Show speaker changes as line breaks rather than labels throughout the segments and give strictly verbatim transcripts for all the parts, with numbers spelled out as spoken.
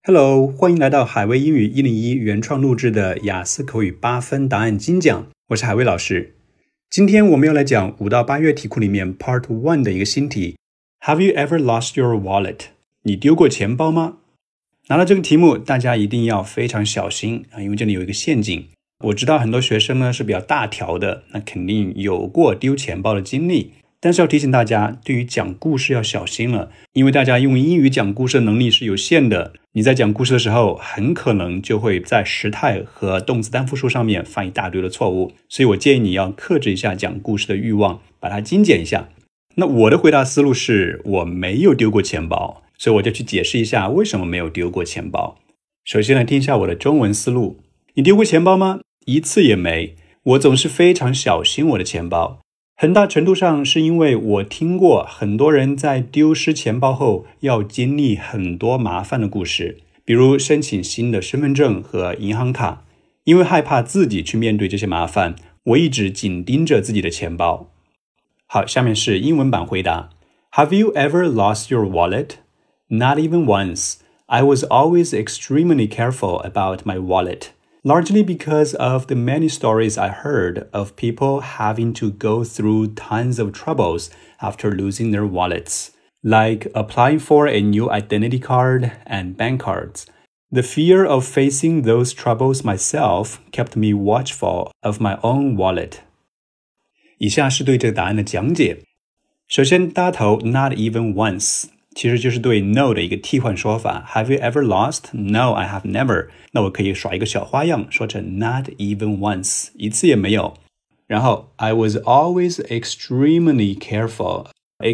Hello， 欢迎来到海威英语一零一原创录制的雅思口语八分答案精讲，我是海威老师。今天我们要来讲五到八月题库里面 Part One 的一个新题 Have you ever lost your wallet？ 你丢过钱包吗？拿到这个题目，大家一定要非常小心啊，因为这里有一个陷阱。我知道很多学生呢是比较大条的，那肯定有过丢钱包的经历。但是要提醒大家，对于讲故事要小心了，因为大家用英语讲故事的能力是有限的，你在讲故事的时候很可能就会在时态和动词单复数上面犯一大堆的错误，所以我建议你要克制一下讲故事的欲望，把它精简一下。那我的回答思路是我没有丢过钱包，所以我就去解释一下为什么没有丢过钱包。首先来听一下我的中文思路。你丢过钱包吗？一次也没。我总是非常小心我的钱包，很大程度上是因为我听过很多人在丢失钱包后要经历很多麻烦的故事，比如申请新的身份证和银行卡。因为害怕自己去面对这些麻烦，我一直紧盯着自己的钱包。好，下面是英文版回答。 Have you ever lost your wallet? Not even once. I was always extremely careful about my wallet.Largely because of the many stories I heard of people having to go through tons of troubles after losing their wallets, like applying for a new identity card and bank cards. The fear of facing those troubles myself kept me watchful of my own wallet. 以下是对这个答案的讲解。首先，大头 not even once其实就是对 no 的一个替换说法。 Have you ever lost? No, I have never. 那我可以耍一个小花样，说成 not even once， 一次也没有。然后 I was always extremely careful.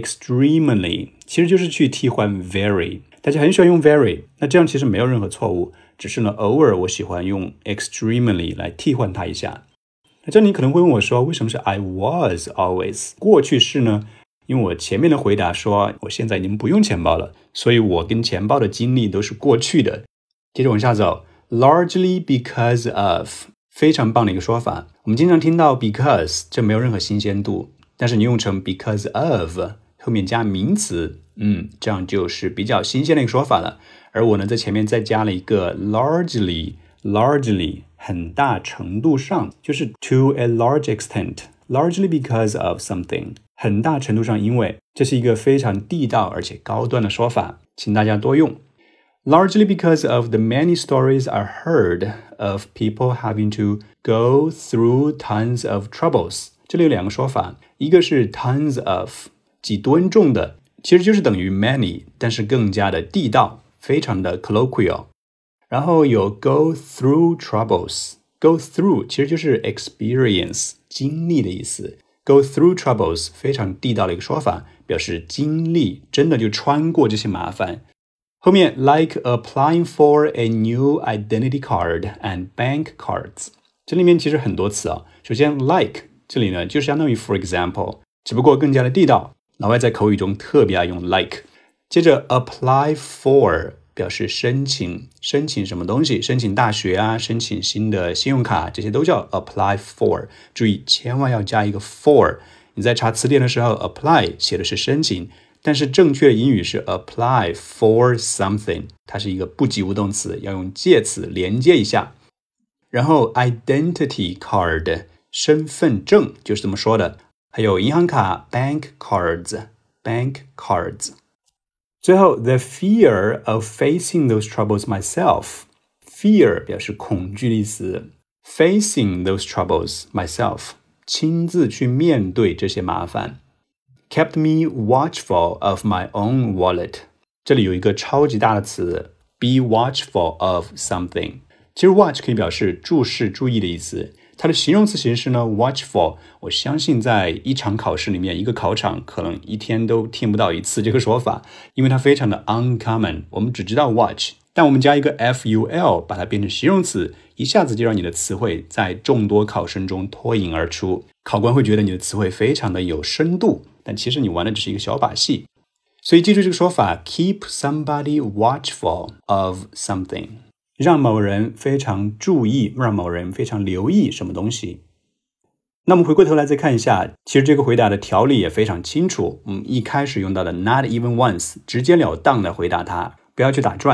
Extremely 其实就是去替换 very， 大家很喜欢用 very， 那这样其实没有任何错误，只是呢偶尔我喜欢用 extremely 来替换它一下。那这你可能会问我说，为什么是 I was always 过去式呢？因为我前面的回答说我现在已经不用钱包了，所以我跟钱包的经历都是过去的。接着往下走， largely because of 非常棒的一个说法。我们经常听到 because， 这没有任何新鲜度，但是你用成 because of 后面加名词，嗯，这样就是比较新鲜的一个说法了。而我呢在前面再加了一个 largely largely 很大程度上，就是 to a large extent， largely because of something，很大程度上因为，这是一个非常地道而且高端的说法，请大家多用。Largely because of the many stories I heard of people having to go through tons of troubles。 这里有两个说法，一个是 tons of 几吨重的，其实就是等于 many， 但是更加的地道，非常的 colloquial。 然后有 go through troubles， go through 其实就是 experience 经历的意思。Go through troubles 非常地道的一个说法，表示经历真的就穿过这些麻烦。后面 like applying for a new identity card and bank cards， 这里面其实很多词啊。首先 like 这里呢就相当于 for example， 只不过更加的地道，老外在口语中特别爱用 like。 接着 apply for表示申请，申请什么东西，申请大学啊，申请新的信用卡，这些都叫 apply for。 注意千万要加一个 for， 你在查词典的时候 apply 写的是申请，但是正确的英语是 apply for something， 它是一个不及物动词，要用介词连接一下。然后 identity card 身份证就是这么说的，还有银行卡 bank cards bank cards。最后 the fear of facing those troubles myself， fear 表示恐惧的意思， facing those troubles myself 亲自去面对这些麻烦。 kept me watchful of my own wallet， 这里有一个超级大的词 be watchful of something， 其实 watch 可以表示注视注意的意思，它的形容词形式呢 watchful， 我相信在一场考试里面，一个考场可能一天都听不到一次这个说法，因为它非常的 uncommon， 我们只知道 watch， 但我们加一个 ful 把它变成形容词，一下子就让你的词汇在众多考生中脱颖而出，考官会觉得你的词汇非常的有深度，但其实你玩的只是一个小把戏。所以记住这个说法 keep somebody watchful of something，让某人非常注意，让某人非常留意什么东西。那我们回过头来再看一下，其实这个回答的条理也非常清楚。我们一开始用到的 not even once， 直截了当的回答它，不要去打转。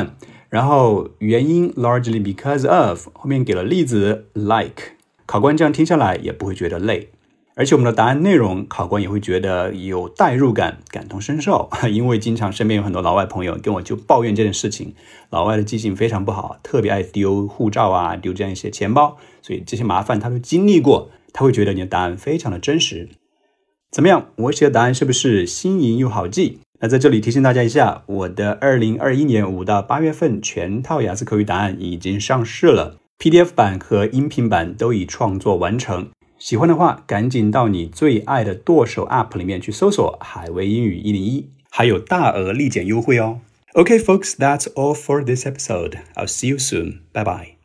然后原因 largely because of 后面给了例子 like， 考官这样听下来也不会觉得累。而且我们的答案内容，考官也会觉得有代入感，感同身受。因为经常身边有很多老外朋友跟我就抱怨这件事情，老外的记性非常不好，特别爱丢护照啊，丢这样一些钱包，所以这些麻烦他都经历过，他会觉得你的答案非常的真实。怎么样，我写的答案是不是新颖又好记？那在这里提醒大家一下，我的二零二一年五到八月份全套雅思口语答案已经上市了， P D F 版和音频版都已创作完成。喜欢的话，赶紧到你最爱的剁手 App 里面去搜索海威英语一零一，还有大额立减优惠哦。Okay, folks, that's all for this episode. I'll see you soon. Bye bye.